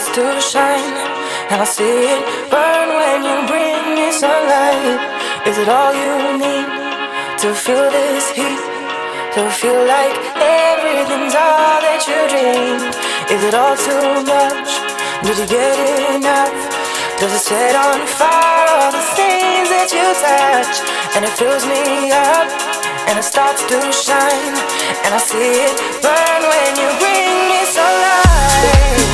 to shine, and I see it burn when you bring me sunlight. Is it all you need to feel this heat? To feel like everything's all that you dreamed? Is it all too much? Did you get enough? Does it set on fire all the things that you touch? And it fills me up, and it starts to shine, and I see it burn when you bring me sunlight.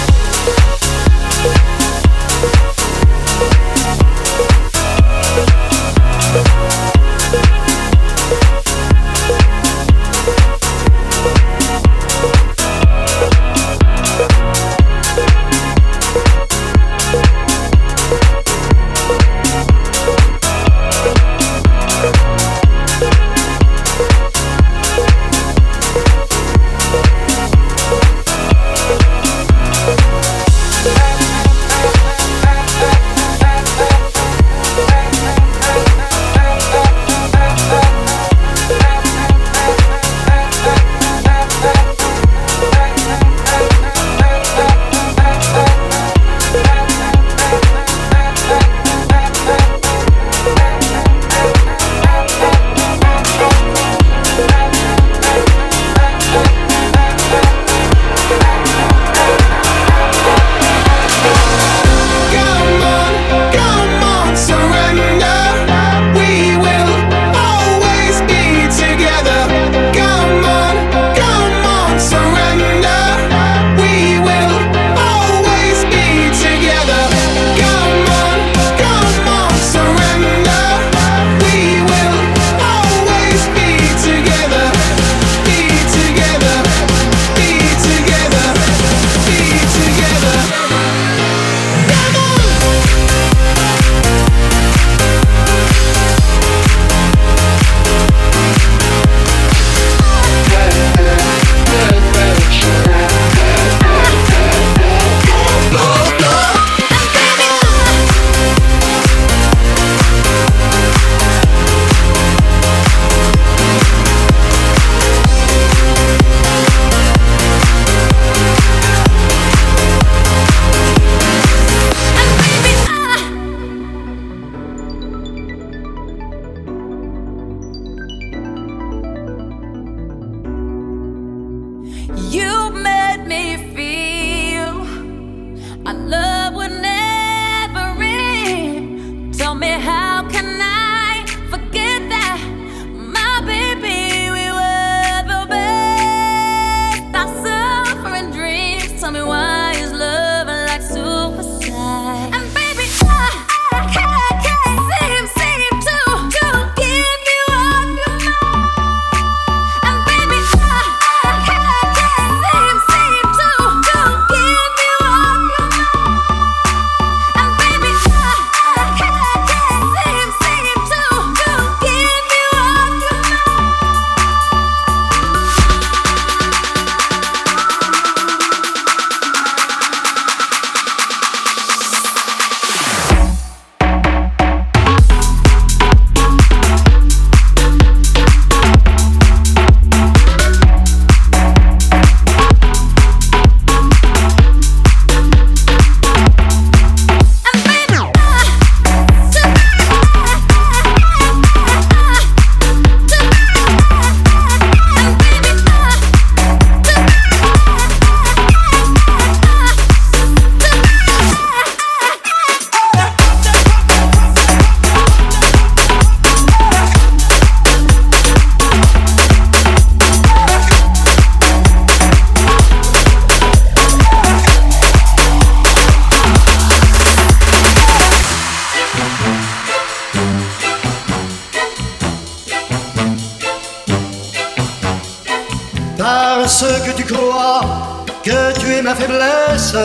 Parce que tu crois que tu es ma faiblesse,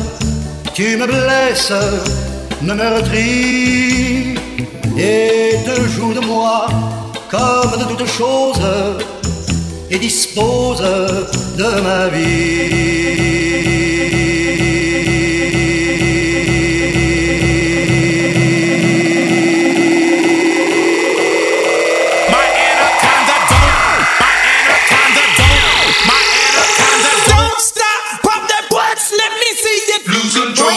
tu me blesses, me meurtris et te joues de moi comme de toutes choses et dispose de ma vie. Lose control.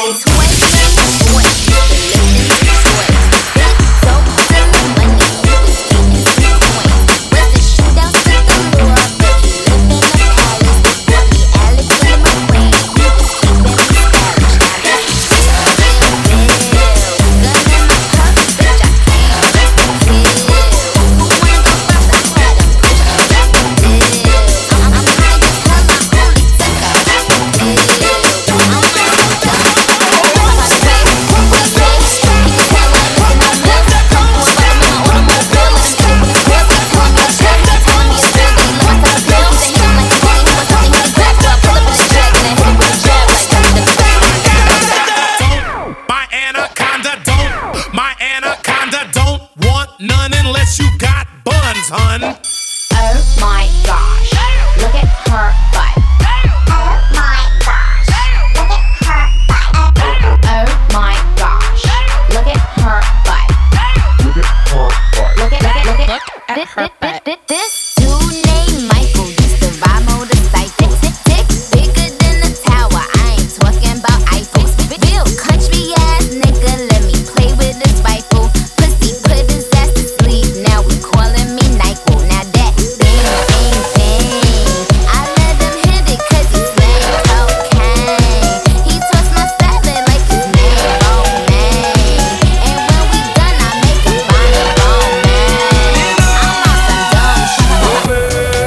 Cause, hun. Oh my gosh, look at her butt. Oh my gosh, look at her butt. Oh my gosh, look at her butt. Look at her butt. Look at her butt. This dude named Michael used to ride motorcycles. Dick bigger than the tower. I ain't talking about Eiffel. Real country ass nigga, let me play with his rifle. Pussy put his ass to sleep. Now we calling me Nyquil. Now that bang bang bang, I let him hit it 'cause he slang cocaine. He tossed my salad like his name Romaine. And when we done, I make him find a Romaine. I'm on some dumb shit.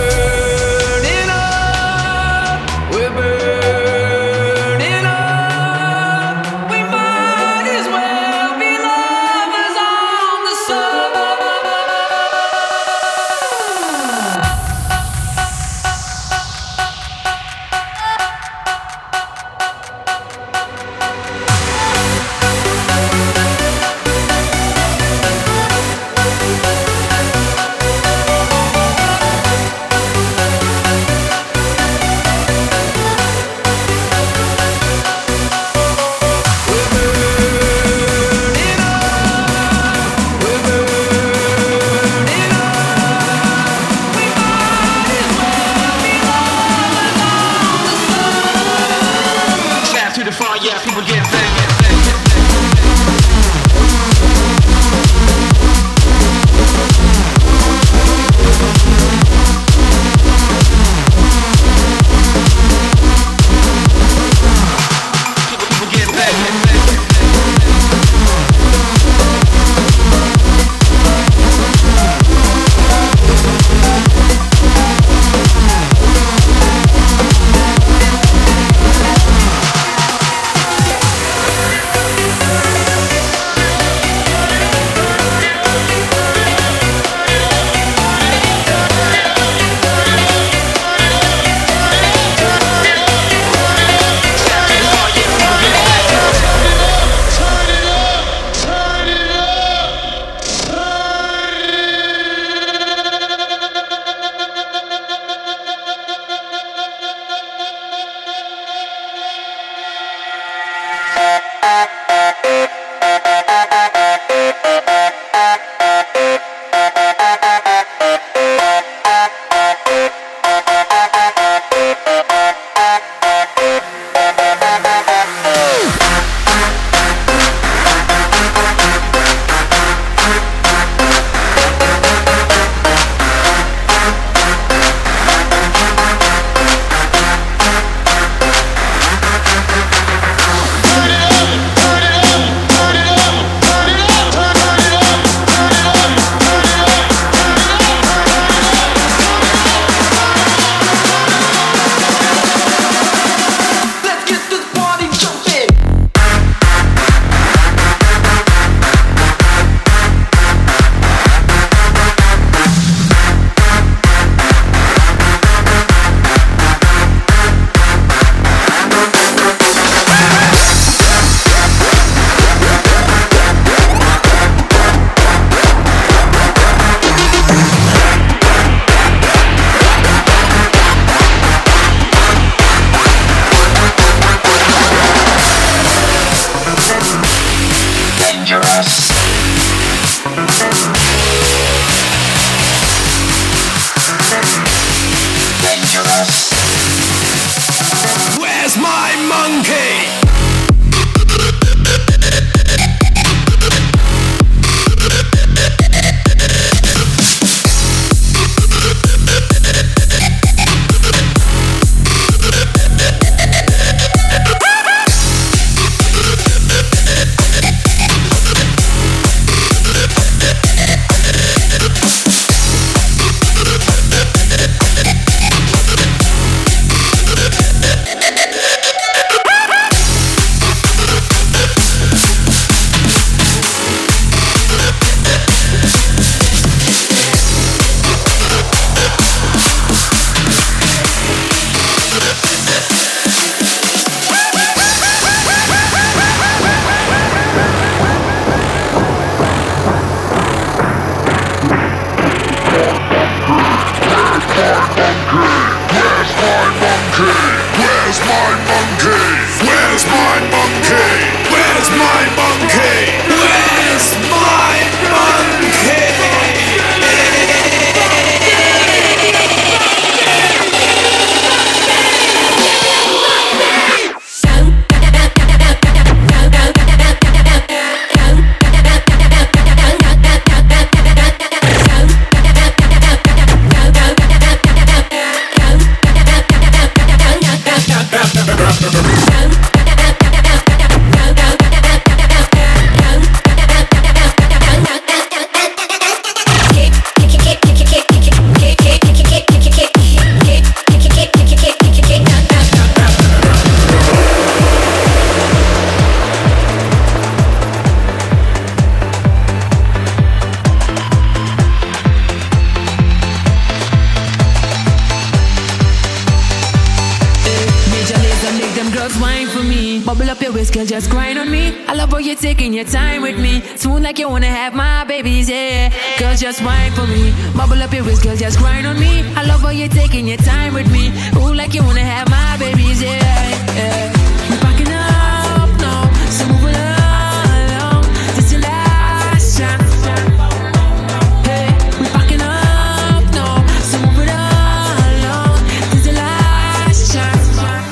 girl, just grind on me. I love how you're taking your time with me. Smooth like you wanna have my babies, yeah. Girl, just wine for me. Bubble up your waist, girl, just grind on me. I love how you're taking your time with me. Ooh, like you wanna have my babies, yeah, yeah. We're backing up now, so move it along. This is your last chance. Hey, we're backing up now, so move it along. This is your last chance.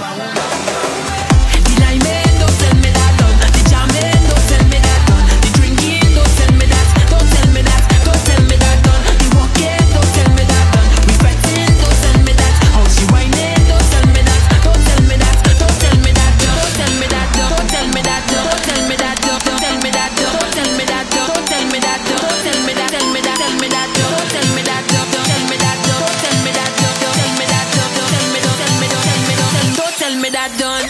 The liming, don't tell me that done. The jamming, don't tell me that done. The drinking, don't tell me that. Don't tell me that. Don't tell me that done. The walking, don't tell me that done. We fighting, don't tell me that. How she whining, don't tell me that. Don't tell me that. Don't tell me that. Don't tell me that. Don't tell me that. Don't tell me that. Don't tell me that. Don't tell me that. Don't tell me that. Don't tell me that. Tell me that. Tell me that. Don't tell me that. Don't tell me that. Don't tell me that. Don't tell me that. Don't tell me. Don't tell me. Don't tell me. Don't tell me that done.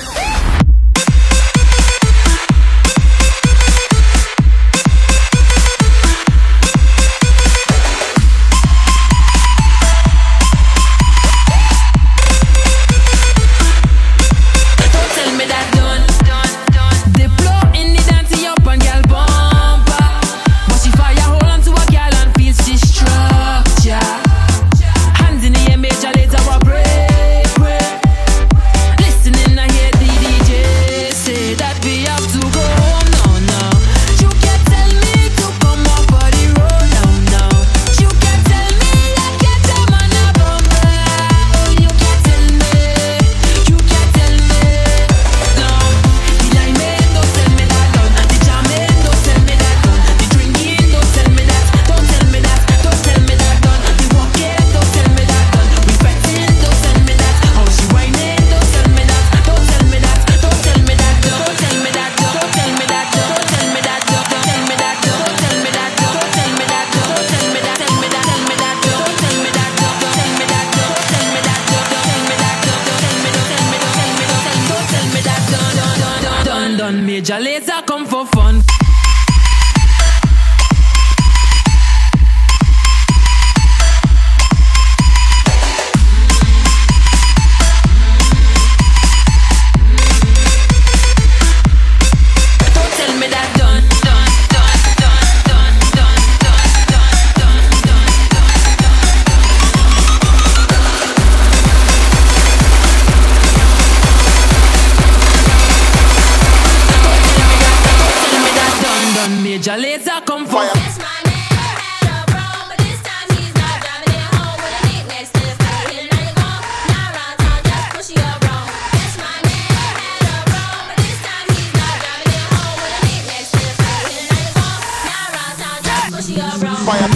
Major laser come for fun. Don't tell me that done. Major laser come for fire. That's my neighbor had a bro, but this time he's not driving it home with a neat next to his face. Hit it on your gon' not around town, just push you up wrong. That's my neighbor had a bro, but this time he's not driving it home with a neat next to his face. Hit it on your gon' not around town, just push you up wrong. Fire.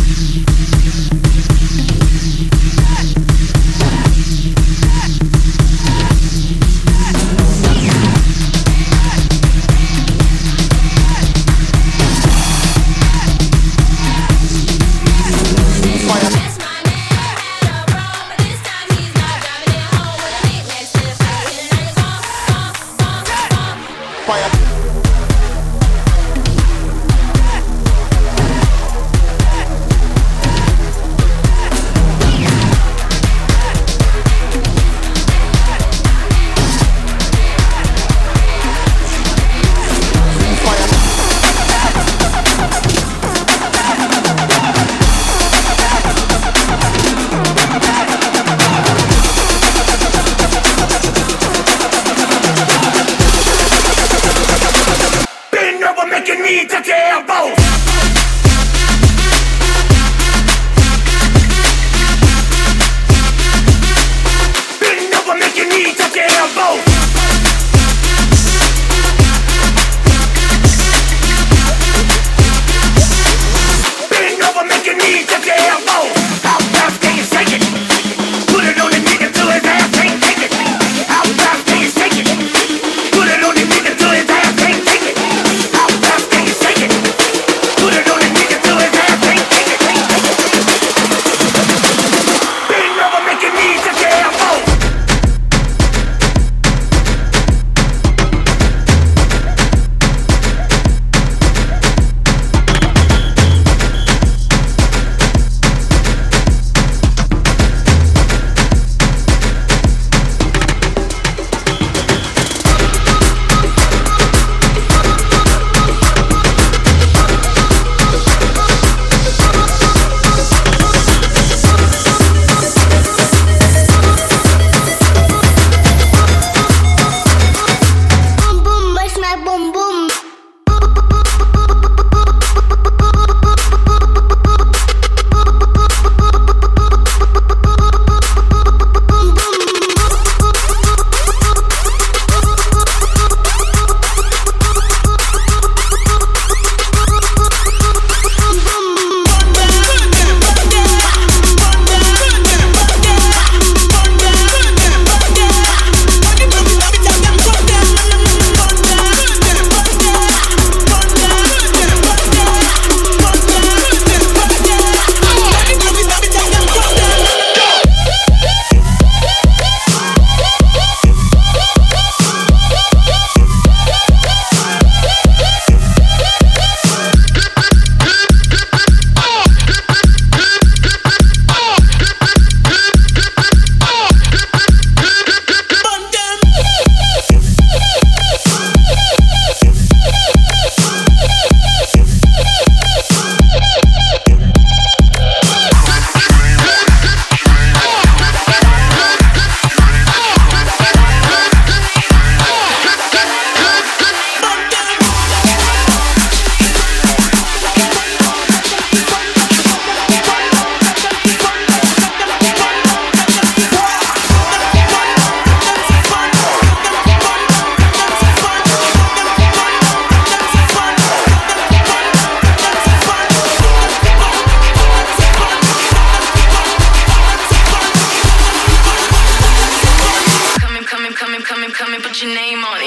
your name on it.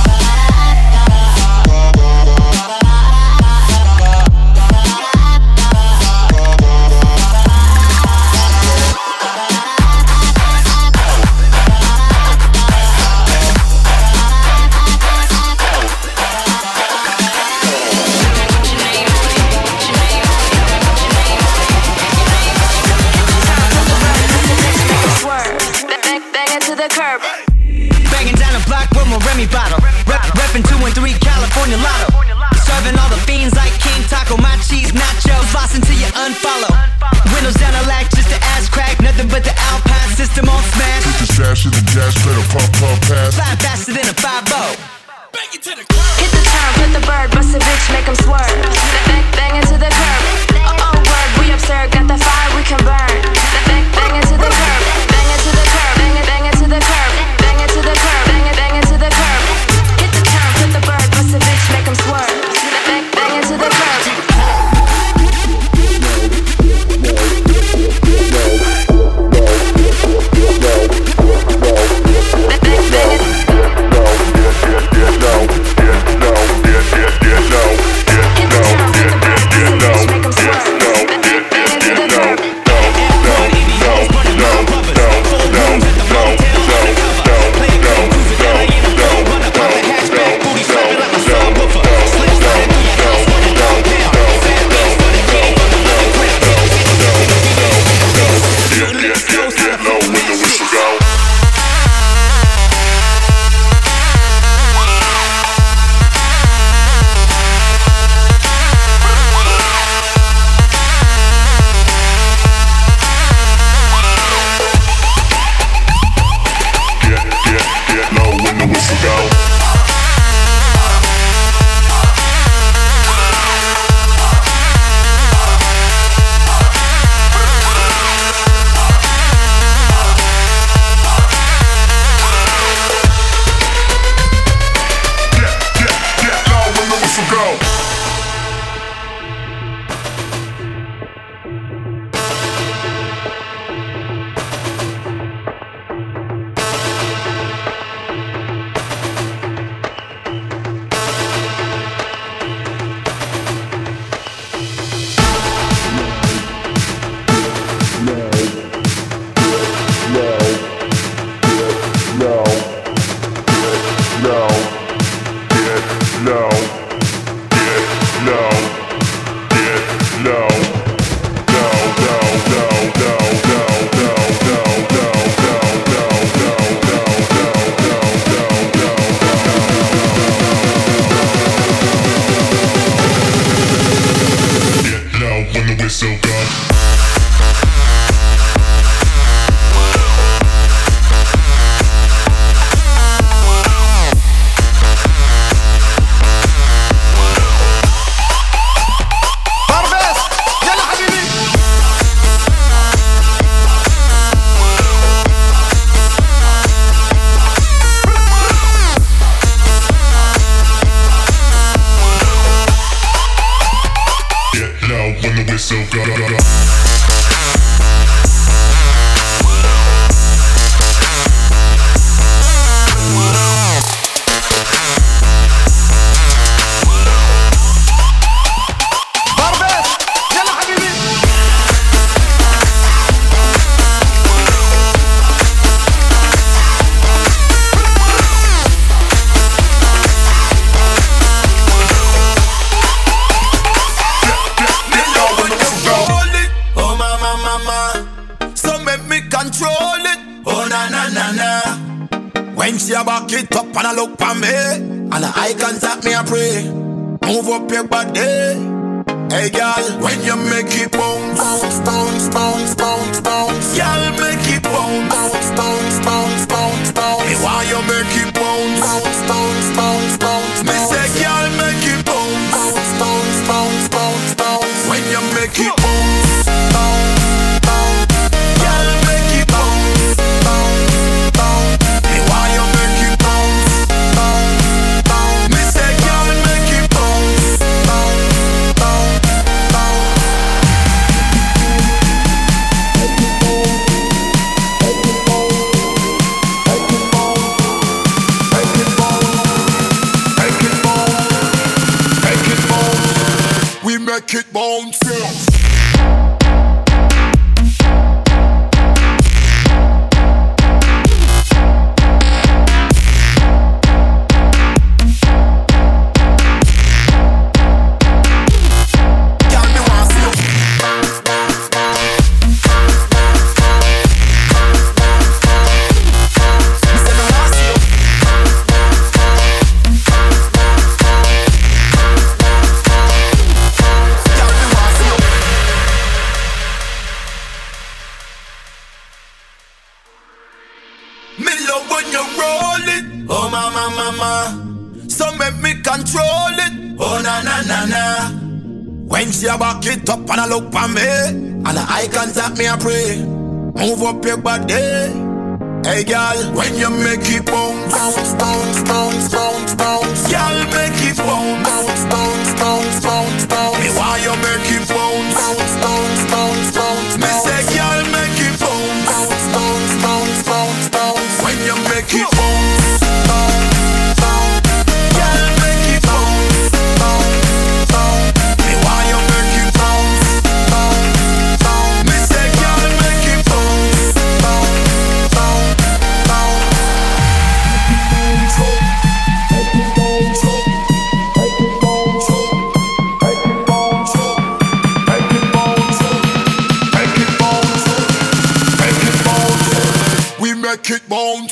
Remy bottle, reppin' 2 and 3 California Lotto. Serving all the fiends like King Taco, my cheese nachos, floss until you unfollow. Windows down a lack, just the ass crack, nothing but the Alpine system on smash. Put the sash in the gas pedal, pump, pass. Fly faster than a 5-0. Hit the turn, put the bird, bust a bitch, make 'em swerve. Bang into the curb. Oh, word, we absurd, got the fire we can burn. Bang into the curb, bang into the curb, bang into the curb, bang into the curb, bang into the curb. Hit the turn, put the bird, bust a bitch, make 'em swerve. Bang into the curb. When she a back it up and a look for me, and a eye contact me a pray. Move up your body, hey girl. When you make it bounce, bounce, bounce, bounce, bounce, bounce. Girl, make it bounce, bounce, bounce, bounce, bounce, bounce. Hey, why you make it bounce, bounce, bounce, bounce, bounce? Me say, girl, make it bounce, bounce, bounce, bounce, bounce, bounce. When you make it bounce, bounce. Me love when you roll it. Oh mama, mama. So make me control it. Oh na na na na. When she a back it up and a look for me, and a eye contact me a pray. Move up your body. Hey girl, when you make it bounce, bounce, bounce, bounce, bounce, bounce. Girl, make it bounce, bounce, bounce, bounce, bounce, bounce. Me why you make it bounce, bounce, bounce, bounce, bounce. Me say girl, make it bounce, bounce, bounce, bounce, bounce, bounce. When you make it bounce, bounce, bounce. Girl, make it bounce, bounce, bounce. Me why you make it bounce, bounce, bounce. Me say girl, make it bounce, bounce, bounce. We make it bounce.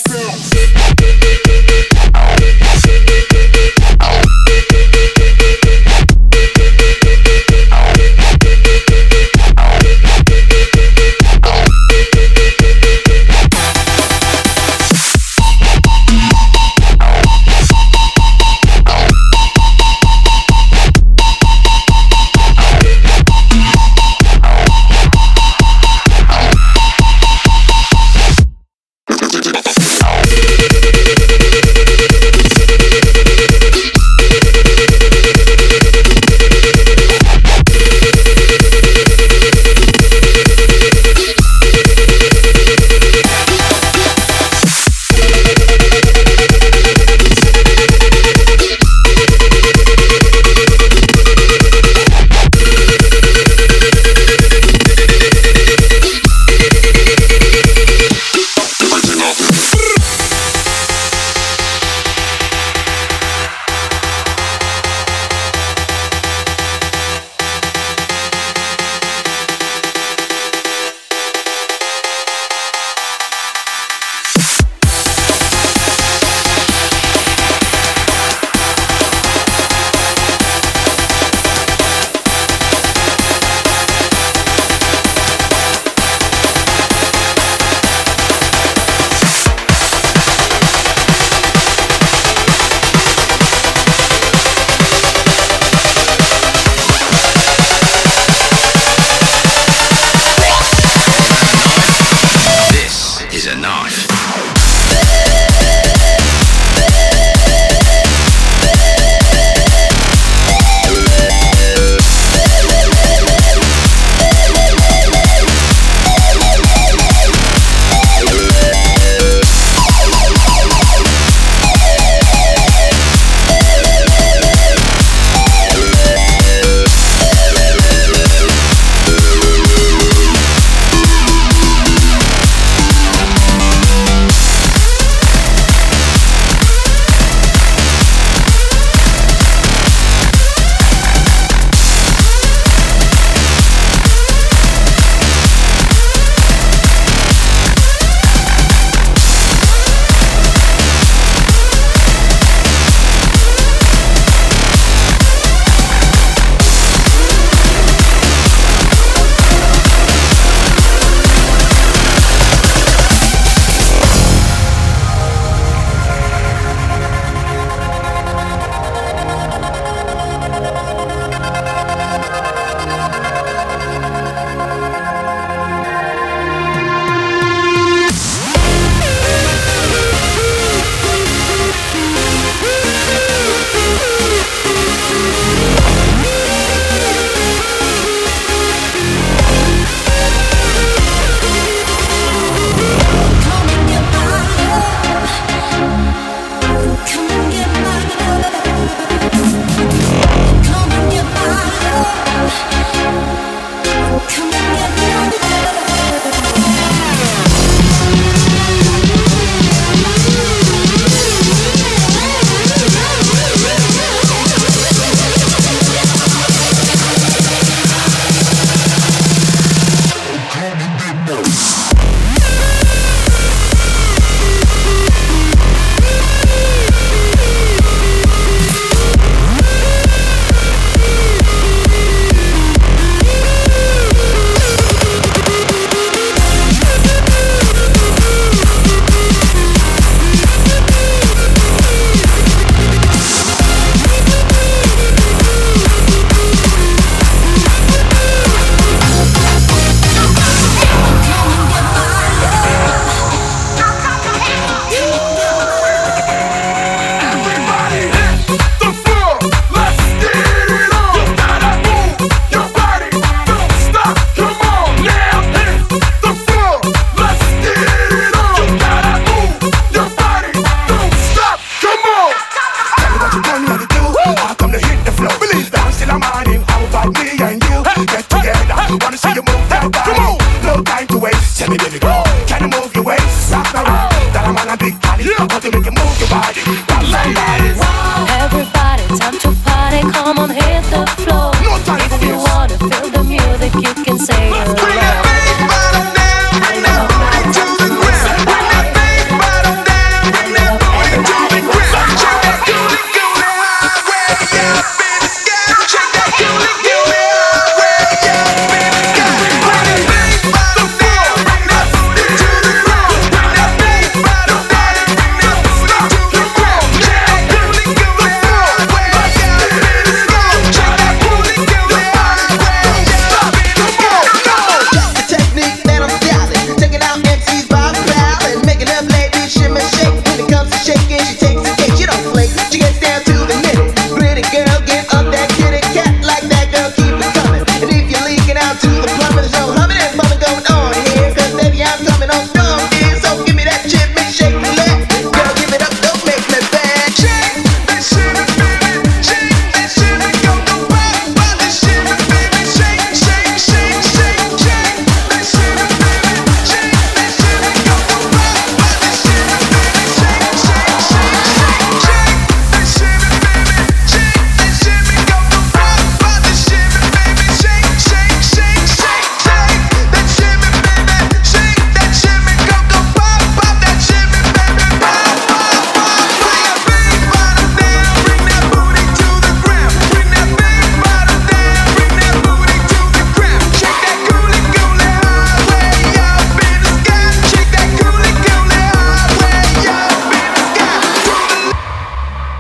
baby, baby, go. Can you move your waist, rock the road? That I'm on a big party, want to make you move your body. Come on, ladies. Everybody, time to party. Come on, hit the floor. No time if for you this. wanna feel the music, you can say it Bring that loud. big bottom down, bring that booty to the ground. Bring that big bottom down, bring that booty to the ground. Check that coolie coolie high, way up in the sky. Check that coolie coolie high, way up in the sky. Bring that big bottom down, bring that booty to the ground. Bring that big bottom down, bring that booty to the ground. Check that coolie coolie high, way up in the sky. Check that coolie coolie high, way up in the sky. The technique that I'm styling, taking out MCs by pal and making up ladies shimmy shake. When it comes to shaking, she takes the cake. She don't flake, she gets down to the minute. Pretty girl, get up that kitty cat like that girl, keep it coming. And if you're leaking out to the plumbing, there's no humming and bumming going on here. 'Cause baby, I'm coming on strong, dear. So give me that shimmy shake leg. Girl, give it up, don't make me bad. Shake that shimmy, baby. Shake that shimmy, go go pop, pop that shimmy, baby. Shake, shake, shake, shake, shake that shimmy, baby. Shake that shimmy, go go pop, pop that shimmy, baby. Shake, shake, shake, shake, shake that shimmy, baby. Shake that shimmy, go go pop, pop that shimmy, baby. Shake, shake, shake, shake, shake that shimmy, baby. Shake that shimmy, go go pop, pop that shimmy, baby. Pop, pop, pop. Bring that big bottom down, bring that booty to the ground. Bring that big bottom down, bring that booty to the ground. Shake that coolie coolie high, way up in the sky. Shake that coolie coolie high, way up in the sky.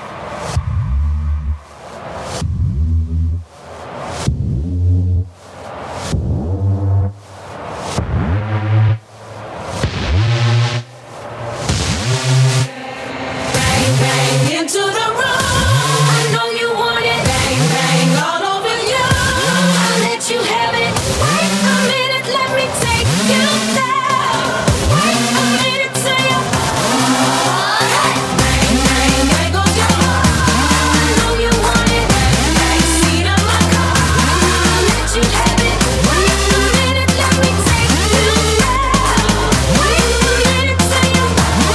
Bang, bang into the room. I know you want it. Bang, bang all over you. I'll let you have it. Wait a minute, let me take you there. Wait a minute, say it. Bang, bang, there goes your heart. I know you want it. Bang, bang, seat of my car. I'll let you have it. Wait a minute, let me take you there. Wait a minute, say it.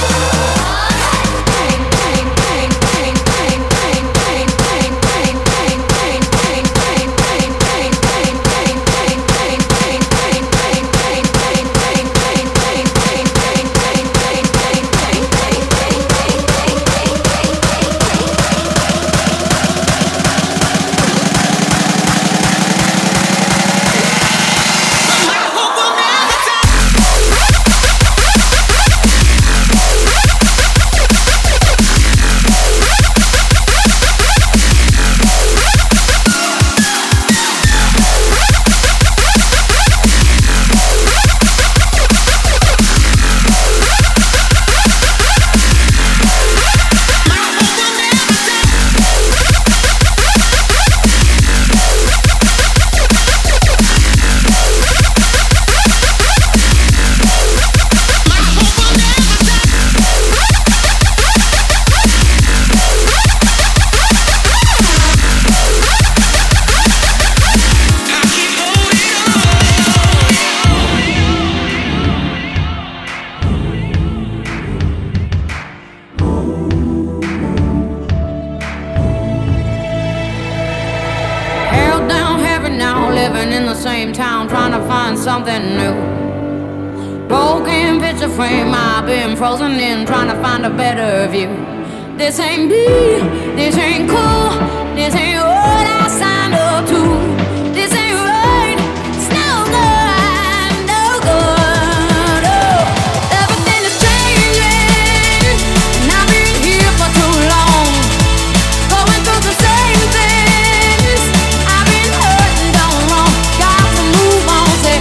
Held down heavy now, living in the same town, trying to find something new. Broken picture frame, I've been frozen in, trying to find a better view. This ain't me, this ain't cool, this ain't what I signed up to. This ain't right, it's no good, no good. Oh, everything is changing, and I've been here for too long, going through the same things. I've been hurt and done wrong, got to move on. Say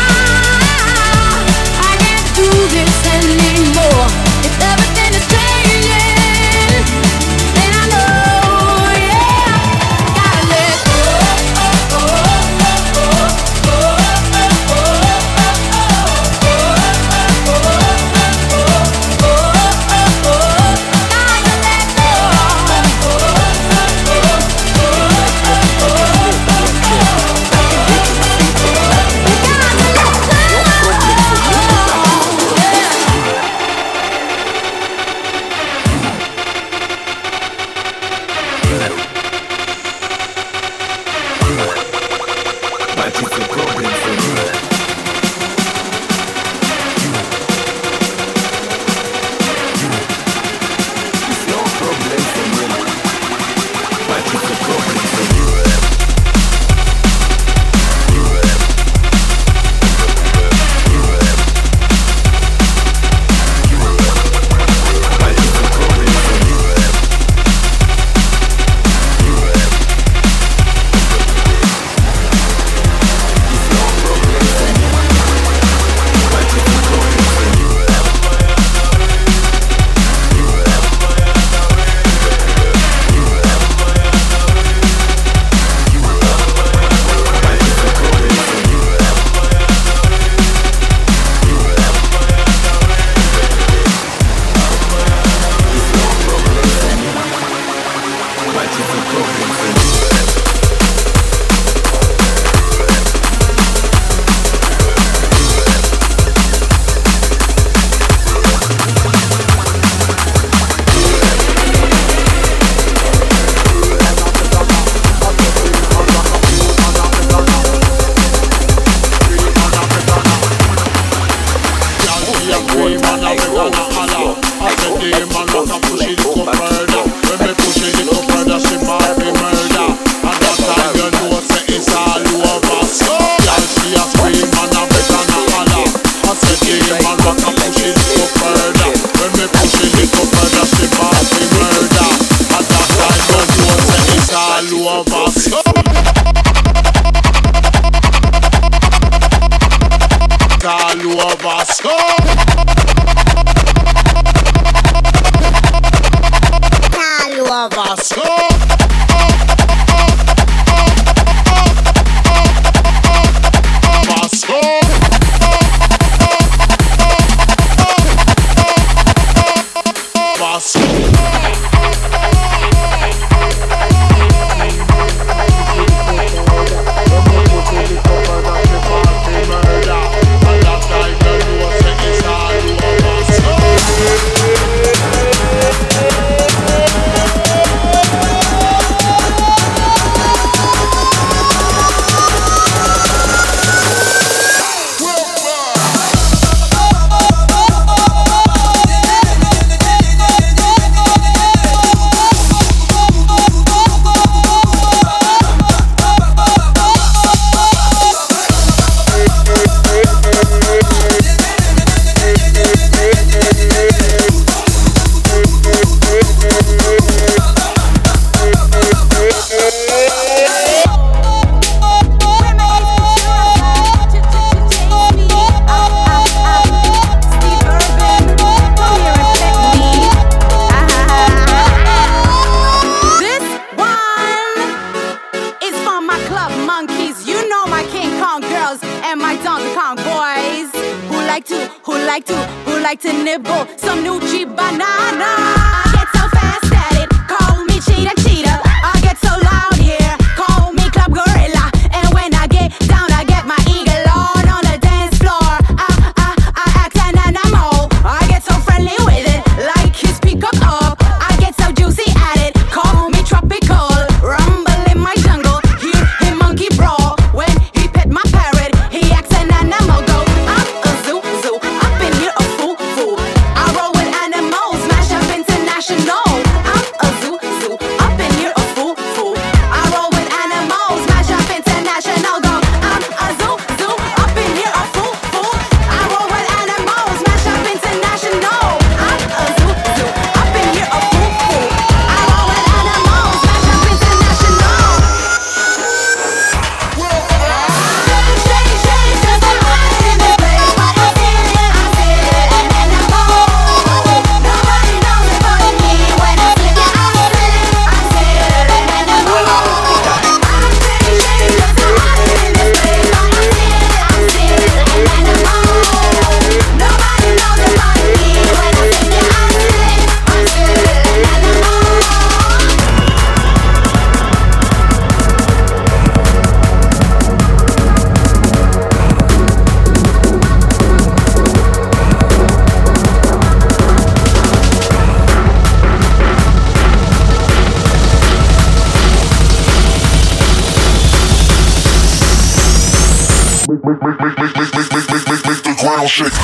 I can't do this anymore. If everything is changing, then I know, yeah, gotta let go. a scream and a beg and a holler. I said the man want to push it go further. When me push it go further, she might be murder. And that time you know say it's all over. So girl, she a scream and a beg and a holler. I said the man want to push it go further. When me push it go further, she might be murder. And that time you know say it's all over. So all over, so all over, so make the ground shake.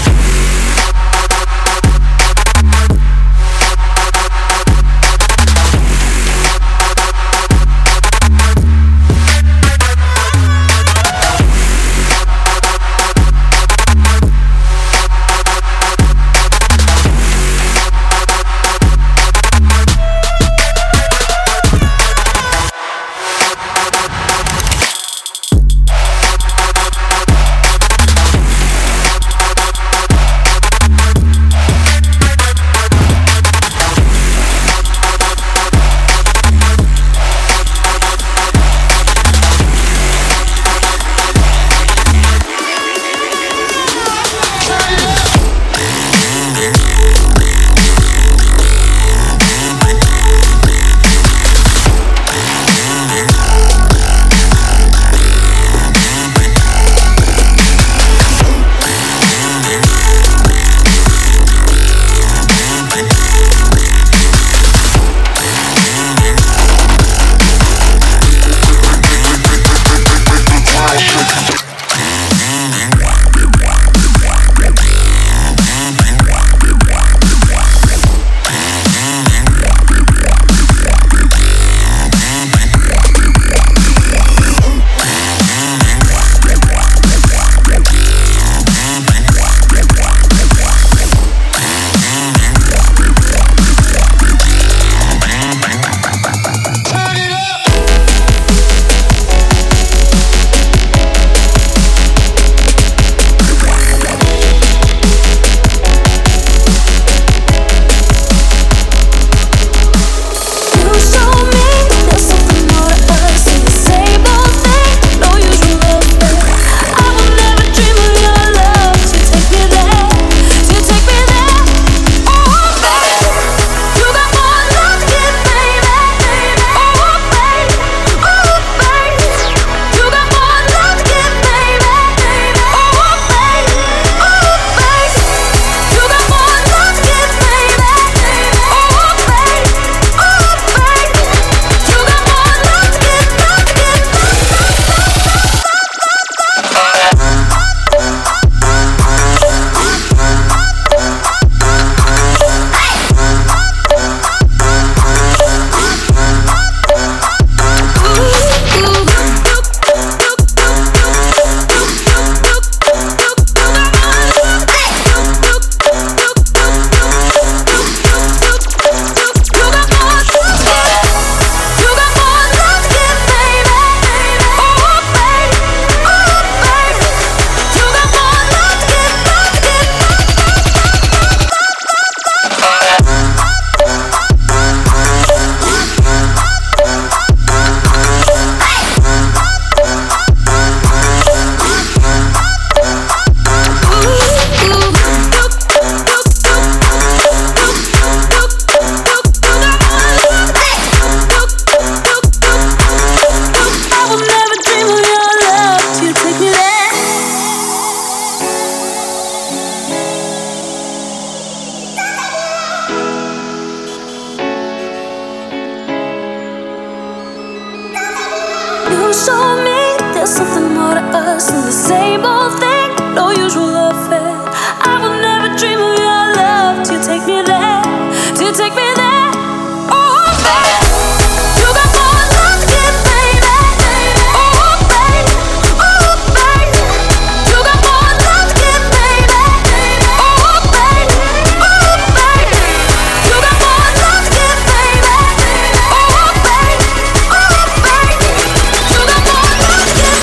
same old thing, no usual affair. I will never dream of your love till you take me there, till you take me there. Oh, baby, you got more love to give, baby. Oh, baby, oh, baby, you got more love to give, baby. Oh, baby, oh, baby, you got more love to give, baby. Oh, baby, oh, baby, you got more love to give,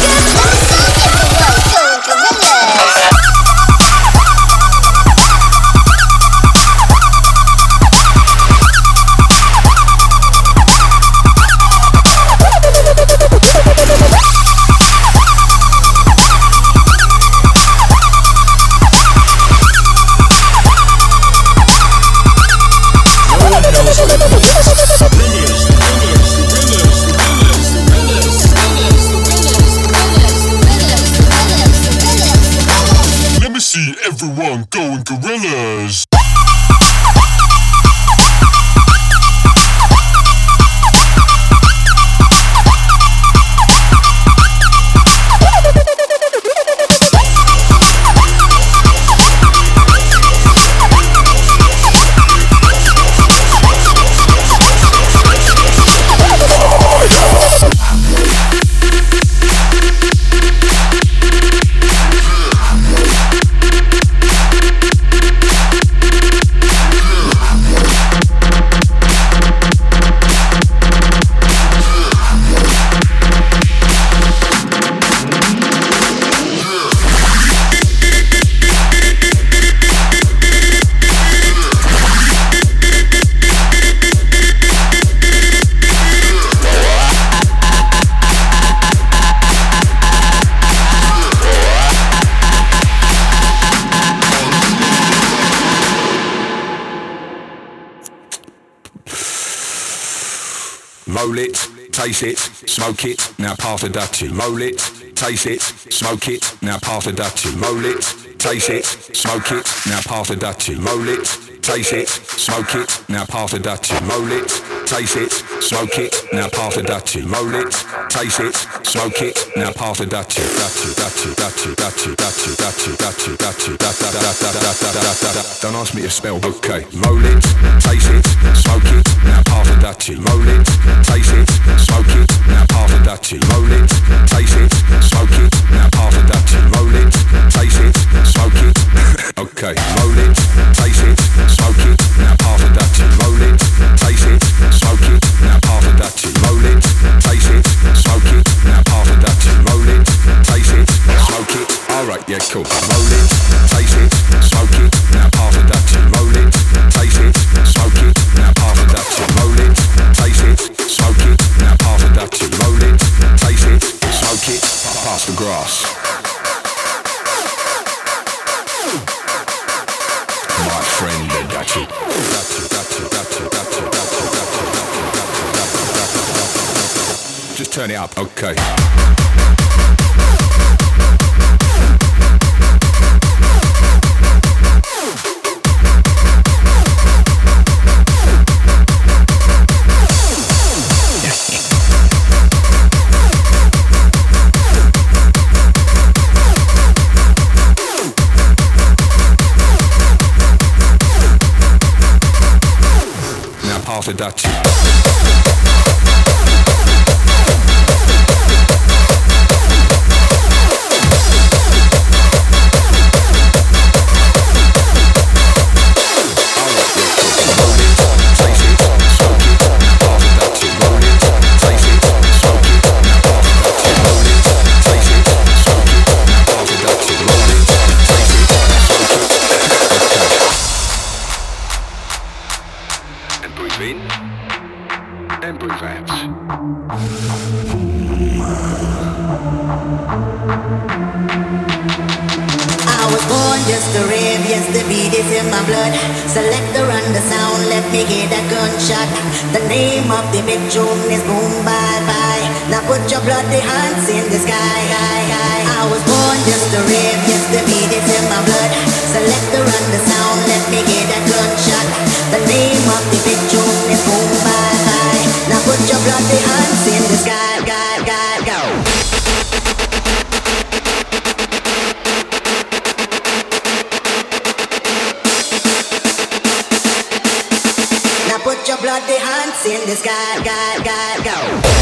Let me see everyone going gorillas. Roll it, taste it, smoke it, now pass the Dutchie. Roll it, taste it, smoke it, now pass the Dutchie. Roll it, taste it, smoke it, now pass the Dutchie. Roll it, taste it, smoke it, now pass the Dutchie. Roll it, taste it, smoke it, now pass the Dutchie. Roll it, taste it, smoke it, now pass the Dutchie. Don't ask me to spell, okay. Roll it, taste it, smoke it, now pass the Dutchie. Roll it, taste it, smoke it, now pass the Dutchie. Roll it, taste it, smoke it, now pass the Dutchie. Roll it, taste it, smoke it. Okay, roll it, taste it, smoke it, now pass the Dutchie. Roll it, taste it, smoke it, now pass the Dutchie. Roll it, taste it, smoke it, now pass the Dutchie. Roll it, taste it, smoke it. Alright, yeah, cool. Roll it, taste it, smoke it, now pass the Dutchie. Roll it, taste it, smoke it, now pass the Dutchie. Roll it, taste it, smoke it, now pass the Dutchie. Roll it, taste it, smoke it, pass the grass. My friend, the Dutchie. Just turn it up, okay. Pass the Dutchie. Selector on the sound, let me hear that gunshot. The name of the big tune is Boom Bye Bye. Now put your bloody hands in the sky. I was born just to rave, just the beat is in my blood. Selector on the sound, let me hear that gunshot. The name of the big tune is Boom Bye Bye. Now put your bloody hands in the sky, go. bloody hands in the sky, go.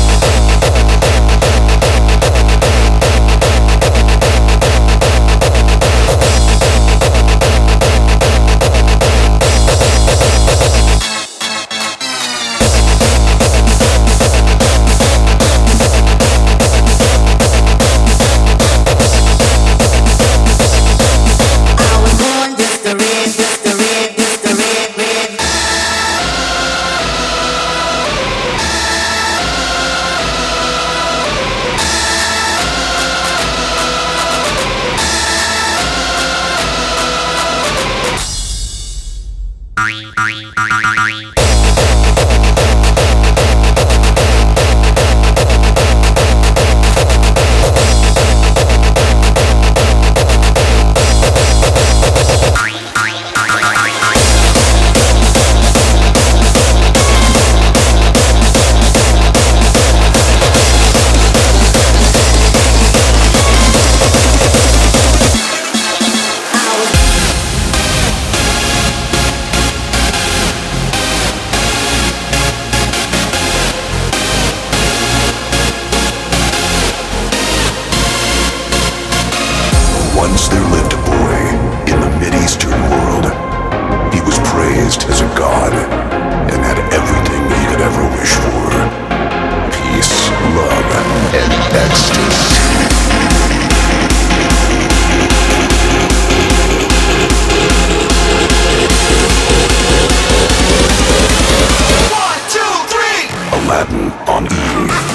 Once there lived a boy in the Mid-Eastern world. He was praised as a god and had everything he could ever wish for. Peace, love, and ecstasy. Aladdin on E!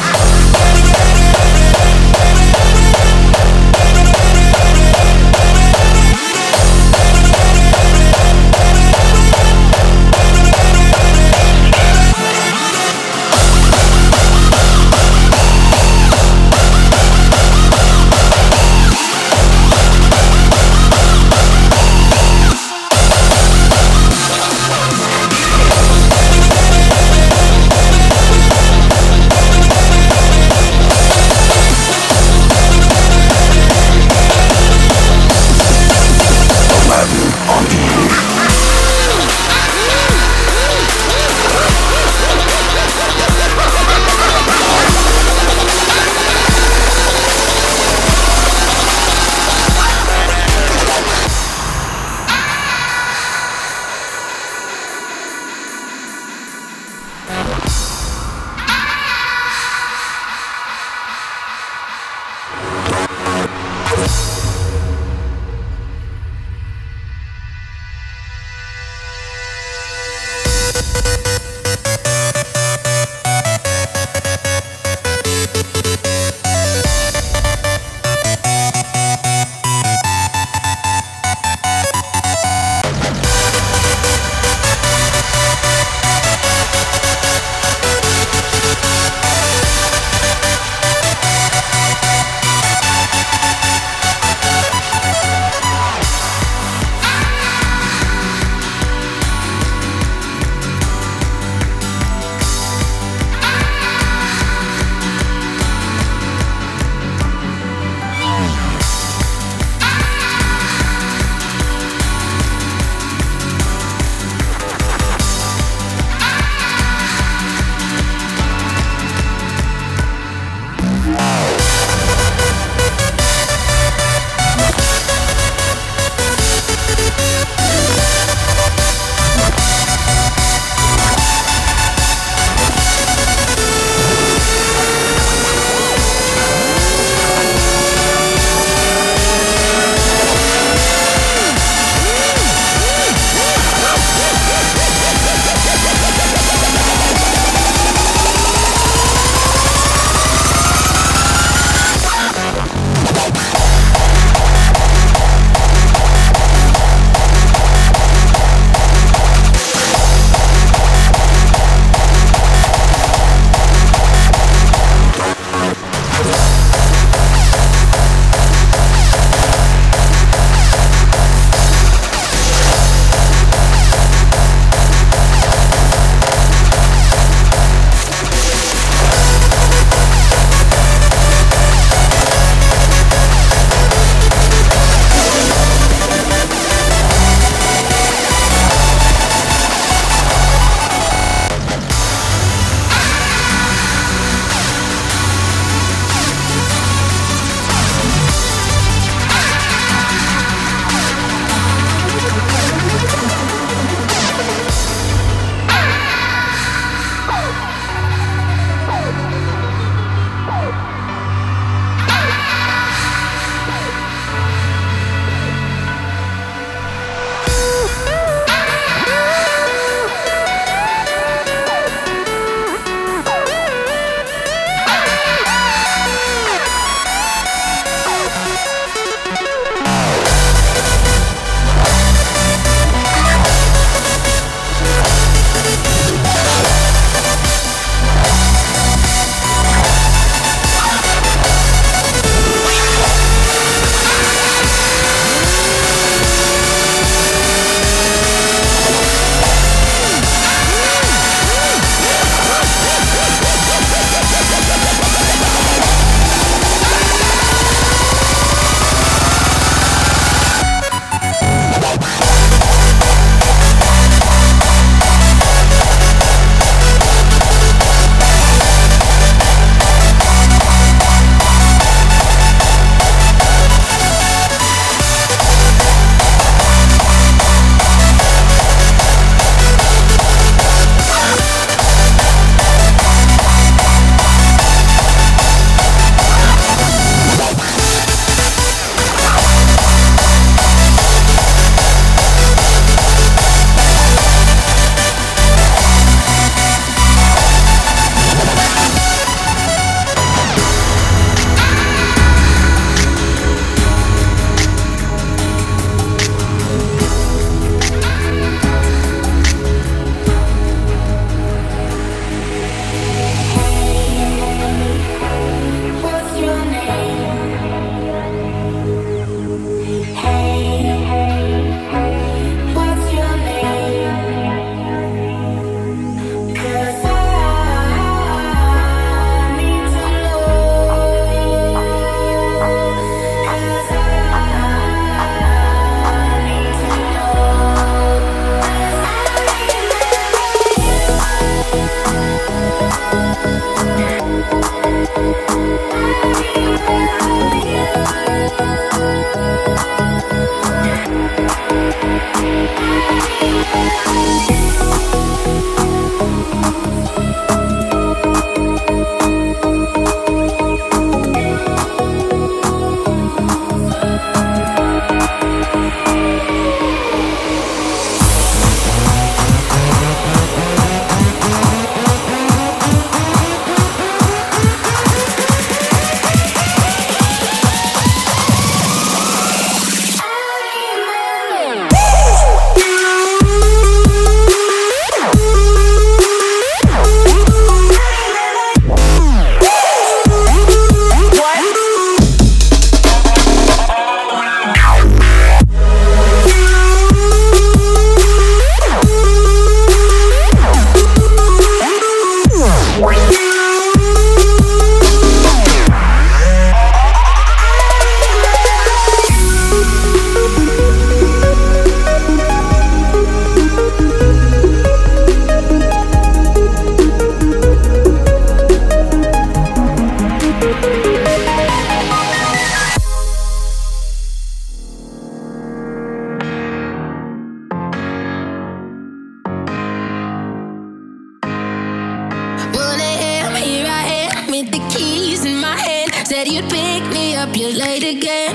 Said you'd pick me up, you're late again.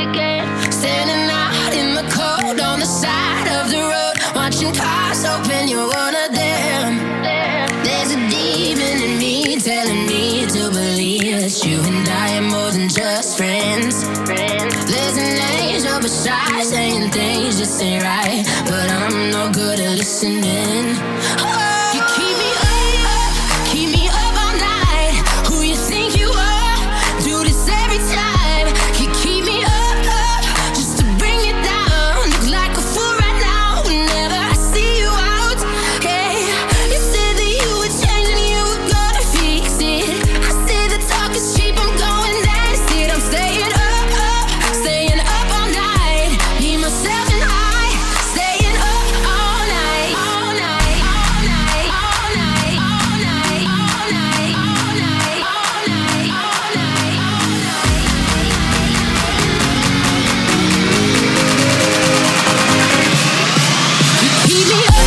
Standing out in the cold on the side of the road, watching cars open, you're one of them. There's a demon in me telling me to believe that you and I are more than just friends. There's an angel beside saying things just ain't right, but I'm no good at listening. You keep me up, keep me up all night. Who you think you are? Do this every time. You keep me up, just to bring you down. Look like a fool right now whenever I see you out. Hey, you said that you would change and you were gonna fix it. I said the talk is cheap, I'm going down. Instead I'm staying up all night. Me, myself and I, staying up all night, all night, all night, all night, all night, all night, all night, all night, all night, all night. Keep me up.